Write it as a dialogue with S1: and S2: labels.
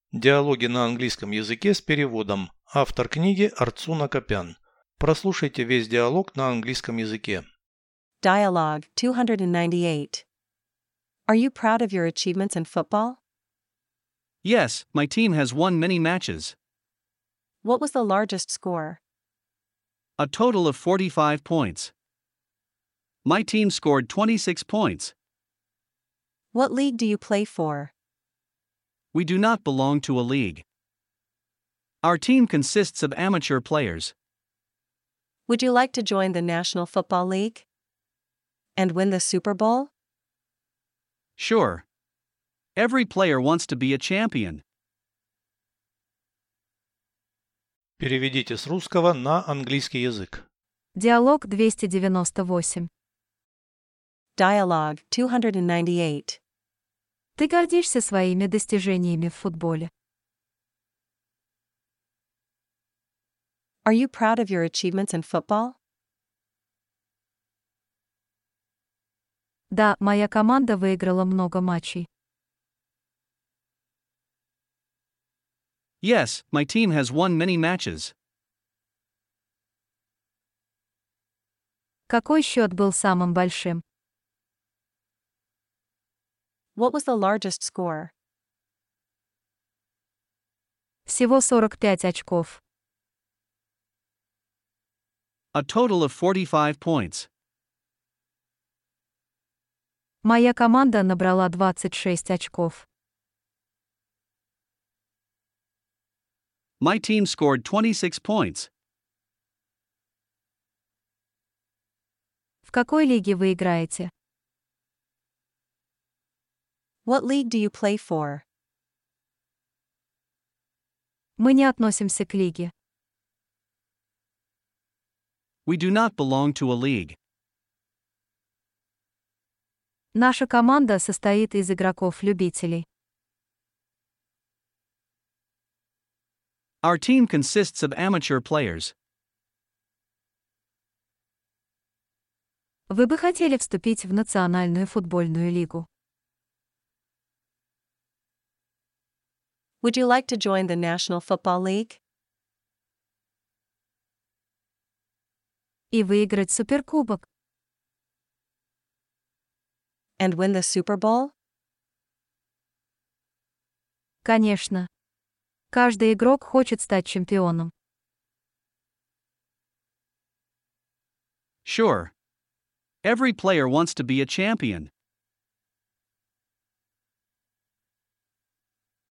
S1: Диалоги на английском языке с переводом. Автор книги Арцуна Копян. Прослушайте весь диалог на английском языке.
S2: Dialogue 298. Are you proud of your achievements in football?
S3: Yes, my team has won many matches.
S2: What was the largest score?
S3: A total of 45 points. My team scored 26 points.
S2: What league do you play for?
S3: We do not belong to a league. Our team consists of amateur players.
S2: Would you like to join the National Football League? And win the Super Bowl?
S3: Sure. Every player wants to be a champion.
S1: Переведите с русского на английский язык.
S4: Диалог 298.
S2: Dialogue 298.
S4: Ты гордишься своими достижениями в футболе.
S2: Are you proud of your achievements in football?
S4: Да, моя команда выиграла много матчей.
S3: Yes, my team has won many matches.
S4: Какой счет был самым большим?
S2: What was the largest score?
S4: Всего 45 очков.
S3: A total of 45 points.
S4: Моя команда набрала 26 очков.
S3: My team scored 26 points.
S4: В какой лиге вы играете?
S2: What league do you play for?
S4: Мы не относимся к лиге.
S3: We do not belong to a league.
S4: Наша команда состоит из игроков-любителей.
S3: Our team consists of amateur players.
S4: Вы бы хотели вступить в Национальную футбольную лигу?
S2: Would you like to join the National Football League?
S4: И выиграть суперкубок?
S2: And win the Super Bowl?
S4: Конечно. Каждый игрок хочет стать чемпионом.
S3: Sure. Every player wants to be a champion.